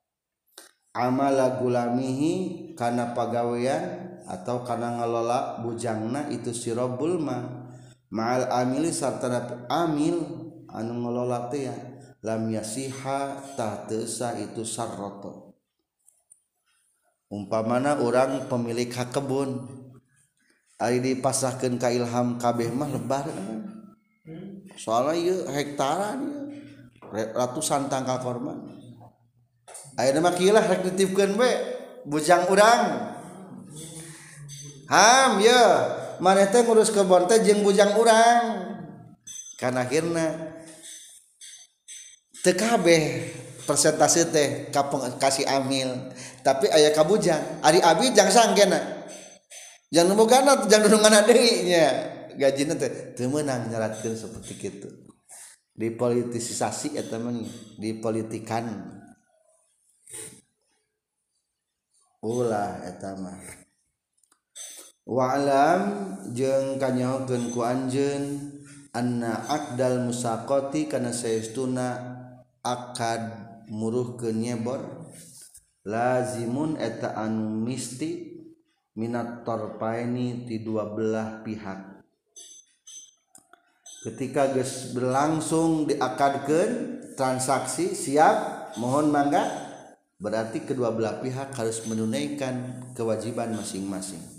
amala gulamihi kana pagawean atau kana ngelola bujangna itu si rabbul ma ma'al amili sarta amil anu ngelola teh lam yasiha tah teu sah itu syarata. Umpamana orang pemilik hak kebun ari dipasahkeun ka ilham kabeh mah lebar soalna ieu hektaran ratusan tangkal korma ayeuna mah kieu lah rek dititipkeun we bujang urang ham ye maneh teh ngurus kebon teh jeung bujang urang kan akhirna teu kabeh persentase teh kasih amil tapi aya ka bujang ari abi jang sanggena jang numugana jang nunungana deui nya gajina teh teu meunang nyaratkeun saperti kitu dipolitisasi eta mah dipolitikan ulah eta mah. Wa'lam jeung kanyahokeun ku anjeun anna aqdal musaqati kana saestuna akad muruhkeun nyebor lazimun eta anu misti minat tarpaini ti dua belah pihak. Ketika geus berlangsung diakadkeun transaksi siap mohon mangga berarti kedua belah pihak harus menunaikan kewajiban masing-masing.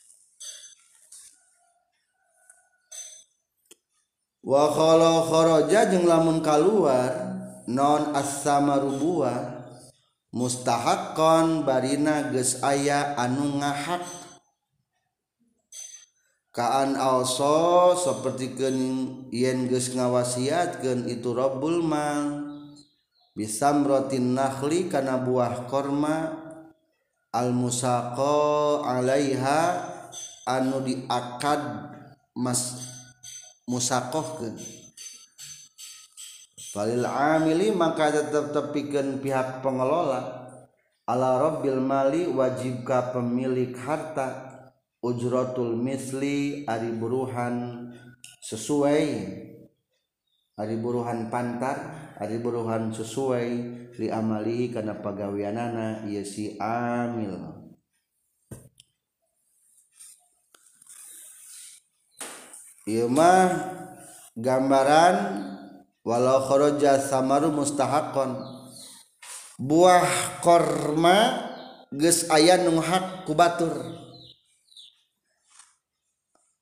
Wa khala kharaja jeung lamun kaluar non as-samaru buah mustahaqqan barina geus aya anu ngahak kaan also sapertikeun yen geus ngawasiatkeun itu rabbul mal bisamratin nakhli kana buah korma al musaqa alaiha anu diakad musaqahkeun falil amili maka tetep tepikeun pihak pengelola ala rabbil mali wajib ka pemilik harta ujratul misli ari buruhan sesuai ari buruhan pantar ari buruhan sesuai li amali kana pagaweanana ieu si amil. Ieu mah gambaran walau kharaja samaru mustahaqqan buah korma geus aya nu hak ku batur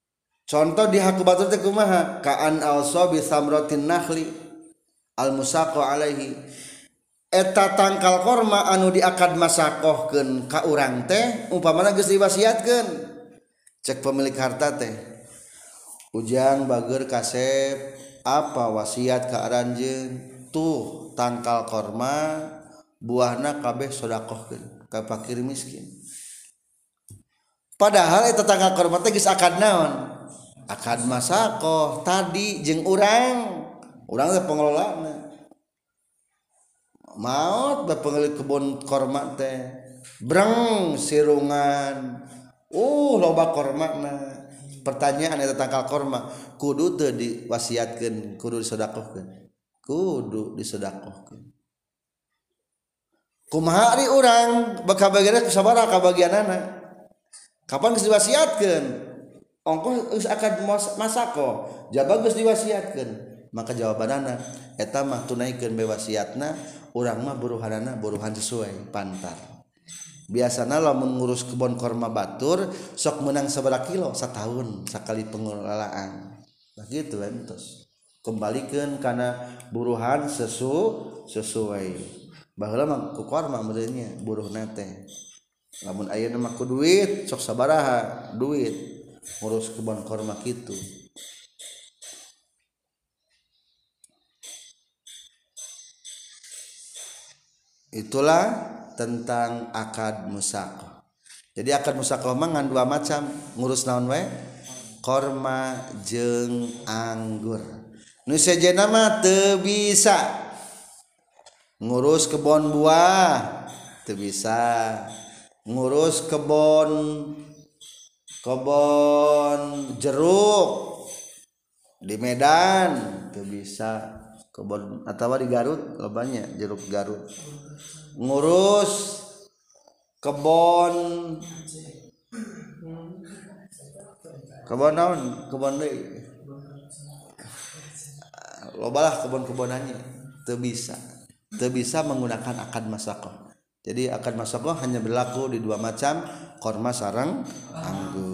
contoh di haku batur teh kumaha kaan also bi samratin nakhli al musaqqa alaihi eta tangkal korma anu diakad masakohkeun ka urang teh umpamana geus diwasiatkeun cek pemilik harta teh ujang bageur kasep apa wasiat ka aranjeun tuh tangkal korma buahna kabeh sodakohkeun ka fakir miskin padahal eta tangkal korma teh geus akad naon akad masakoh tadi jeung urang teh pengelolana maot bapengeulik kebun korma teh breng sirungan loba kormana pertanyaan eta tangkal korma kudu teu diwasiatkeun kudu disedekahkeun kumaha ari urang bakabagianna sabaraha kabagianana kapan geus diwasiatkeun ongkoh geus akad masako jaba geus diwasiatkeun maka jawabanana eta mah tunaikeun bae wasiatna urang mah buruhanana buruhan sesuai pantar biasana lamun ngurus kebon korma batur sok menang sabaraha kilo satahun sakali pengelolaan nah gitu entos kembalikeun kana buruhan sesuai baheula mah ku korma meureunnya buruhna teh lamun ayeuna mah ku duit sok sabaraha duit ngurus kebun korma gitu. Itulah tentang akad musaqah. Jadi akad musaqah mah ngan dua macam, ngurus naon wae? Korma jeung anggur. Nu sejenna mah teu bisa ngurus kebon buah, teu bisa ngurus kebon jeruk di Medan teu bisa kebon atawa di Garut lobanya jeruk Garut ngurus kebon naon kebon deui lobalah kebon-kebonannya teu bisa menggunakan akad masaqah. Jadi akad masaqah hanya berlaku di dua macam korma sareng anggur.